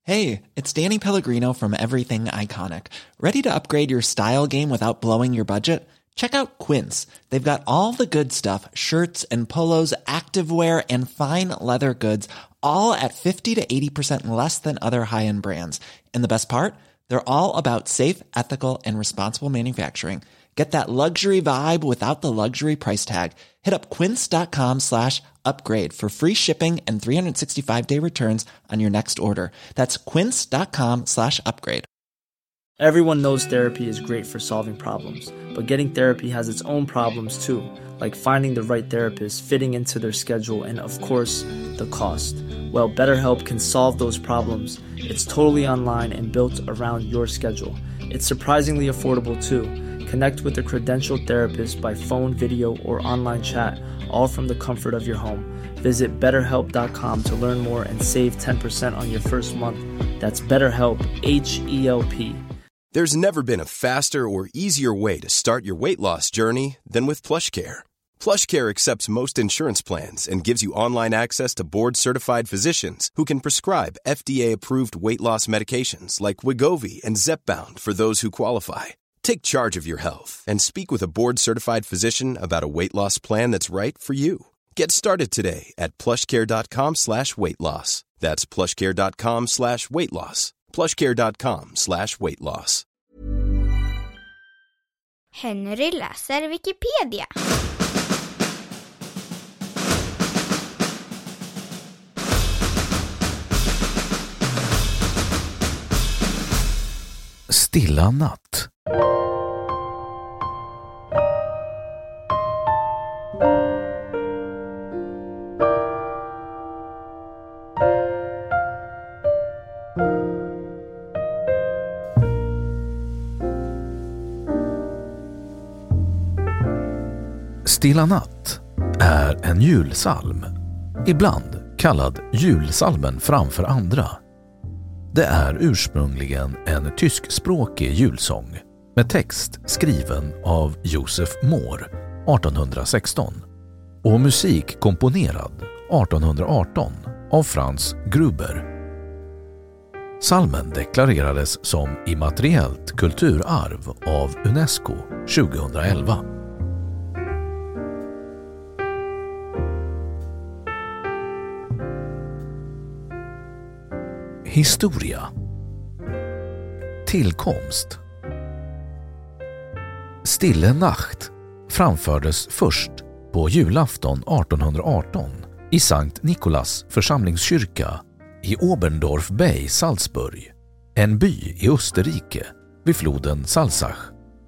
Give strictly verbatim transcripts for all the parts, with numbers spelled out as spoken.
Hey, it's Danny Pellegrino from Everything Iconic. Ready to upgrade your style game without blowing your budget? Check out Quince. They've got all the good stuff, shirts and polos, activewear, and fine leather goods, all at fifty to eighty percent less than other high-end brands. And the best part? They're all about safe, ethical, and responsible manufacturing. Get that luxury vibe without the luxury price tag. Hit up quince.com slash upgrade for free shipping and three sixty-five day returns on your next order. That's quince.com slash upgrade. Everyone knows therapy is great for solving problems, but getting therapy has its own problems too, like finding the right therapist, fitting into their schedule, and of course, the cost. Well, BetterHelp can solve those problems. It's totally online and built around your schedule. It's surprisingly affordable too. Connect with a credentialed therapist by phone, video, or online chat, all from the comfort of your home. Visit better help dot com to learn more and save ten percent on your first month. That's BetterHelp, H E L P. There's never been a faster or easier way to start your weight loss journey than with PlushCare. PlushCare accepts most insurance plans and gives you online access to board-certified physicians who can prescribe F D A-approved weight loss medications like Wegovy and Zepbound for those who qualify. Take charge of your health and speak with a board-certified physician about a weight loss plan that's right for you. Get started today at plushcare.com slash weight loss. That's plushcare.com slash weight loss. plushcare.com slash weight loss. Henry läser Wikipedia. Stilla natt. Stilla natt är en julsalm, ibland kallad julsalmen framför andra. Det är ursprungligen en tyskspråkig julsång med text skriven av Josef Mohr artonhundrasexton och musik komponerad artonhundraarton av Franz Gruber. Salmen deklarerades som immateriellt kulturarv av UNESCO tjugoelva. Historia. Tillkomst. Stille Nacht framfördes först på julafton artonhundraarton i Sankt Nikolas församlingskyrka i Oberndorf Bay, Salzburg, en by i Österrike vid floden Salzach.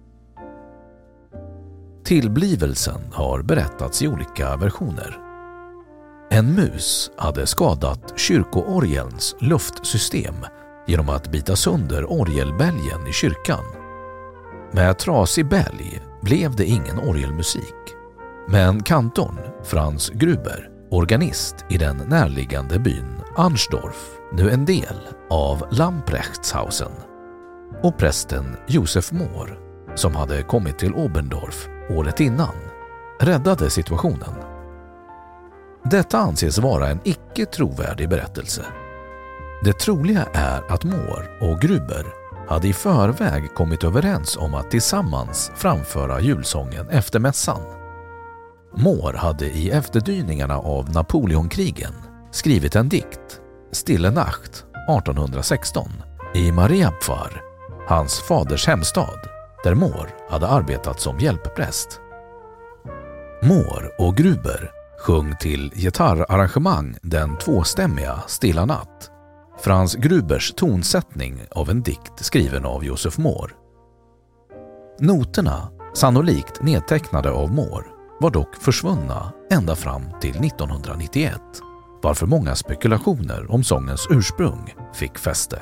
Tillblivelsen har berättats i olika versioner. En mus hade skadat kyrkoorgelns luftsystem genom att bita sönder orgelbälgen i kyrkan. Med trasig bälg blev det ingen orgelmusik. Men kantorn Franz Gruber, organist i den närliggande byn Arnsdorf, nu en del av Lamprechtshausen, och prästen Josef Mohr, som hade kommit till Oberndorf året innan, räddade situationen. Detta anses vara en icke trovärdig berättelse. Det troliga är att Mohr och Gruber hade i förväg kommit överens om att tillsammans framföra julsången efter mässan. Mohr hade i efterdyningarna av Napoleonkrigen skrivit en dikt, Stille Nacht artonhundrasexton, i Mariapfarr, hans faders hemstad, där Mohr hade arbetat som hjälppräst. Mohr och Gruber sjöng till gitarrarrangemang den tvåstämmiga Stilla Natt, Franz Grubers tonsättning av en dikt skriven av Josef Mohr. Noterna, sannolikt nedtecknade av Mohr, var dock försvunna ända fram till nittonhundranittioett, varför många spekulationer om sångens ursprung fick fäste.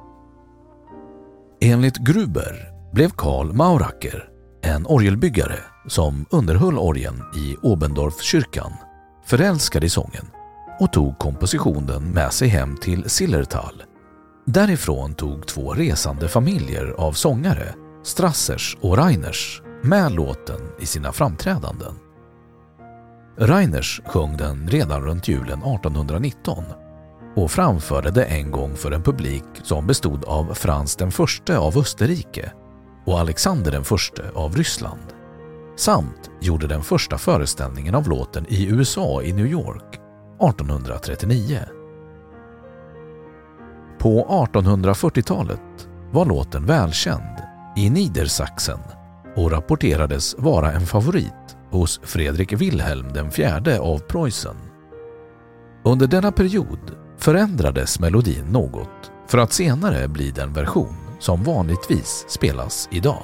Enligt Gruber blev Karl Mauracker, en orgelbyggare som underhöll orgeln i Oberndorfskyrkan, förälskad i sången och tog kompositionen med sig hem till Zillertal. Därifrån tog två resande familjer av sångare, Strassers och Reiners, med låten i sina framträdanden. Reiners sjöng den redan runt julen artonhundranitton, och framförde det en gång för en publik som bestod av Frans den förste av Österrike och Alexander den förste av Ryssland, samt gjorde den första föreställningen av låten i U S A i New York artonhundratrettionio. På artonhundrafyrtiotalet var låten välkänd i Niedersachsen och rapporterades vara en favorit hos Fredrik Wilhelm den fjärde av Preussen. Under denna period förändrades melodin något för att senare bli den version som vanligtvis spelas idag.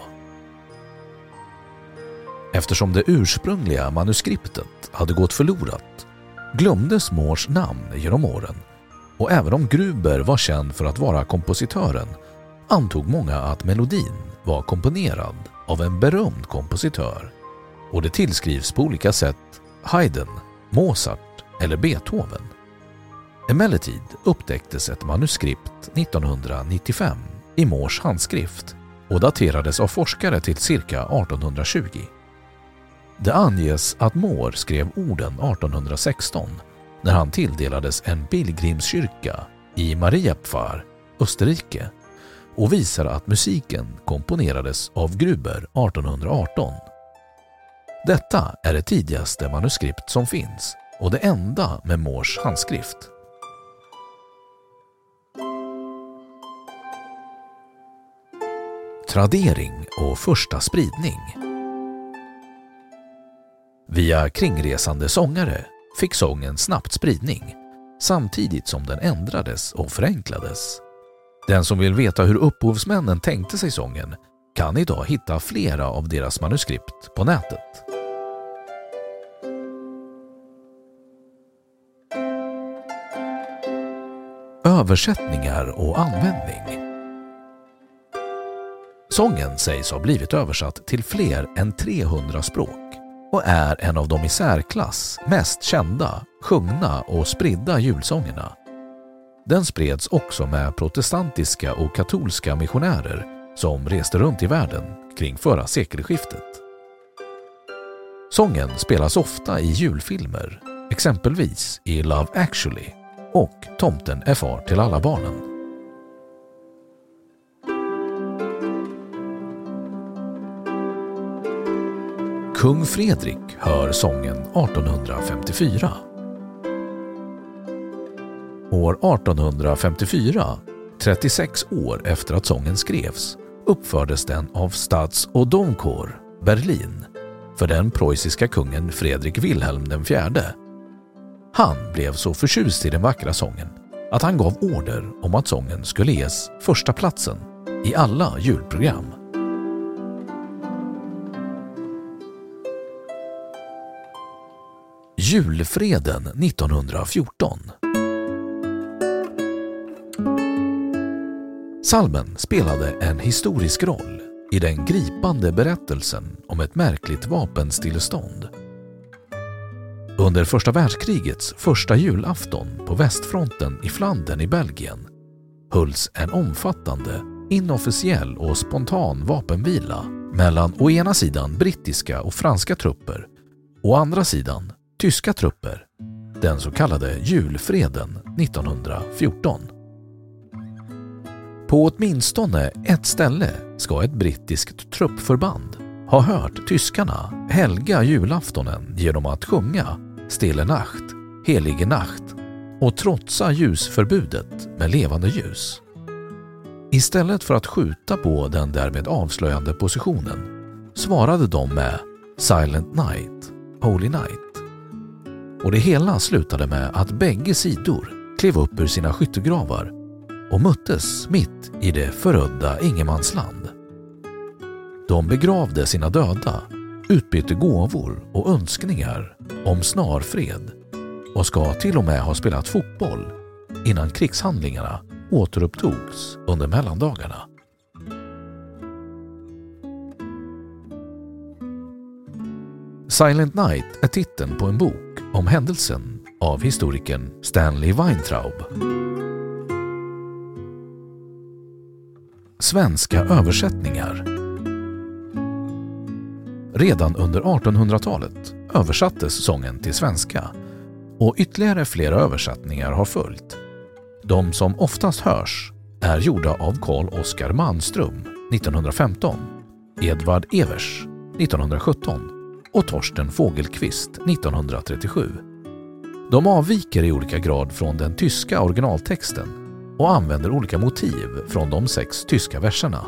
Eftersom det ursprungliga manuskriptet hade gått förlorat glömdes Moores namn genom åren, och även om Gruber var känd för att vara kompositören antog många att melodin var komponerad av en berömd kompositör, och det tillskrivs på olika sätt Haydn, Mozart eller Beethoven. Emellertid upptäcktes ett manuskript nittonhundranittiofem i Moores handskrift och daterades av forskare till cirka artonhundratjugo. Det anges att Moore skrev orden artonhundrasexton när han tilldelades en pilgrimskyrka i Mariapfarr, Österrike, och visar att musiken komponerades av Gruber artonhundraarton. Detta är det tidigaste manuskript som finns och det enda med Moores handskrift. Tradering och första spridning. Via kringresande sångare fick sången snabbt spridning, samtidigt som den ändrades och förenklades. Den som vill veta hur upphovsmännen tänkte sig sången kan idag hitta flera av deras manuskript på nätet. Översättningar och användning. Sången sägs ha blivit översatt till fler än trehundra språk och är en av de i särklass mest kända, sjungna och spridda julsångerna. Den spreds också med protestantiska och katolska missionärer som reste runt i världen kring förra sekelskiftet. Sången spelas ofta i julfilmer, exempelvis i Love Actually och Tomten är far till alla barnen. Kung Fredrik hör sången artonhundrafemtiofyra. År artonhundrafemtiofyra, trettiosex år efter att sången skrevs, uppfördes den av Stads- och Domchor, Berlin, för den preussiska kungen Fredrik Wilhelm den fjärde. Han blev så förtjust i den vackra sången att han gav order om att sången skulle ges första platsen i alla julprogram. Julfreden nittonhundrafjorton. Psalmen spelade en historisk roll i den gripande berättelsen om ett märkligt vapenstillestånd. Under första världskrigets första julafton på västfronten i Flandern i Belgien hölls en omfattande, inofficiell och spontan vapenvila mellan å ena sidan brittiska och franska trupper och å andra sidan tyska trupper, den så kallade julfreden nittonhundrafjorton. På åtminstone ett ställe ska ett brittiskt truppförband ha hört tyskarna helga julaftonen genom att sjunga Stille Nacht, Helige Nacht och trotsa ljusförbudet med levande ljus. Istället för att skjuta på den därmed avslöjande positionen svarade de med Silent Night, Holy Night. Och det hela slutade med att bägge sidor klev upp ur sina skyttegravar och möttes mitt i det förödda ingenmansland. De begravde sina döda, utbytte gåvor och önskningar om snar fred och ska till och med ha spelat fotboll innan krigshandlingarna återupptogs under mellandagarna. Silent Night är titeln på en bok om händelsen av historikern Stanley Weintraub. Svenska översättningar. Redan under artonhundratalet översattes sången till svenska och ytterligare flera översättningar har följt. De som oftast hörs är gjorda av Carl Oskar Manström nittonhundrafemton, Edvard Evers nittonhundrasjutton och Torsten Fågelqvist nittonhundratrettiosju. De avviker i olika grad från den tyska originaltexten och använder olika motiv från de sex tyska verserna.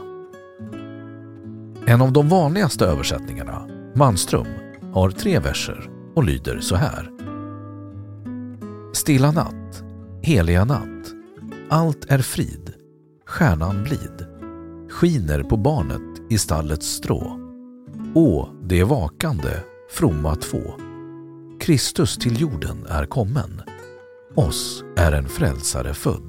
En av de vanligaste översättningarna, Manström, har tre verser och lyder så här. Stilla natt, heliga natt, allt är frid, stjärnan blid, skiner på barnet i stallets strå. Å, det vakande, fromma två, Kristus till jorden är kommen, oss är en frälsare född.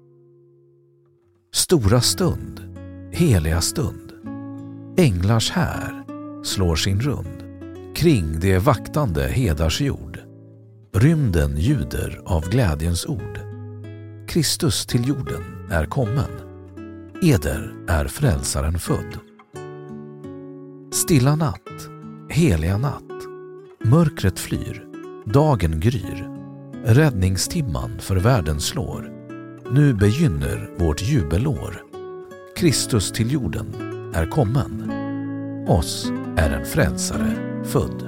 Stora stund, heliga stund, änglars här slår sin rund kring det vaktande hedars jord. Rymden ljuder av glädjens ord. Kristus till jorden är kommen, eder är frälsaren född. Stilla natt, heliga natt, mörkret flyr, dagen gryr, räddningstimman för världen slår. Nu begynner vårt jubelår. Kristus till jorden är kommen, oss är en frälsare född.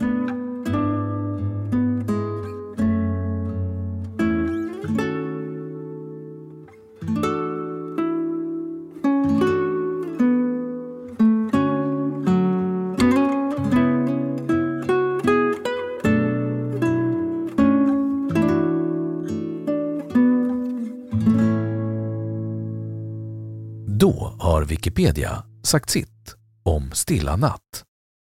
Då har Wikipedia sagt sitt om Stilla natt.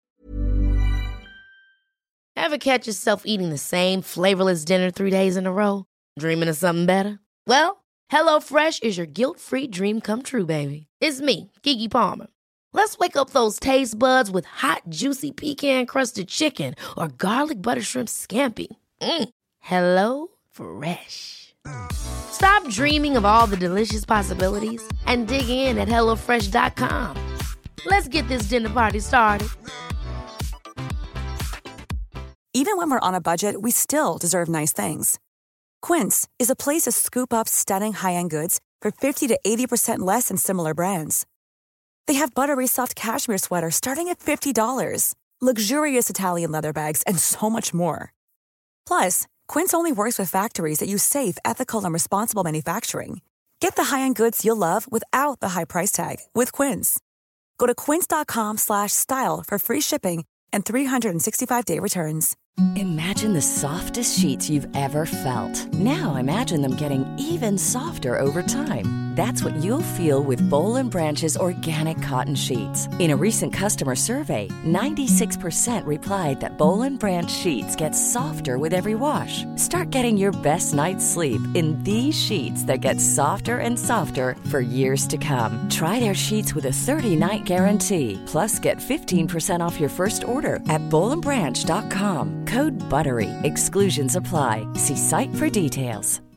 Ever catch yourself eating the same flavorless dinner three days in a row? Dreaming of something better? Well, HelloFresh is your guilt-free dream come true, baby. It's me, Keke Palmer. Let's wake up those taste buds with hot, juicy pecan-crusted chicken or garlic butter shrimp scampi. Mm. Hello Fresh. Stop dreaming of all the delicious possibilities and dig in at hello fresh dot com. Let's get this dinner party started. Even when we're on a budget, we still deserve nice things. Quince is a place to scoop up stunning high-end goods for fifty to eighty percent less than similar brands. They have buttery soft cashmere sweaters starting at fifty dollars, luxurious Italian leather bags, and so much more. Plus, Quince only works with factories that use safe, ethical, and responsible manufacturing. Get the high-end goods you'll love without the high price tag with Quince. Go to quince dot com slash style for free shipping and three sixty-five day returns. Imagine the softest sheets you've ever felt. Now imagine them getting even softer over time. That's what you'll feel with Boll and Branch's organic cotton sheets. In a recent customer survey, ninety-six percent replied that Boll and Branch sheets get softer with every wash. Start getting your best night's sleep in these sheets that get softer and softer for years to come. Try their sheets with a thirty-night guarantee. Plus, get fifteen percent off your first order at boll and branch dot com. Code BUTTERY. Exclusions apply. See site for details.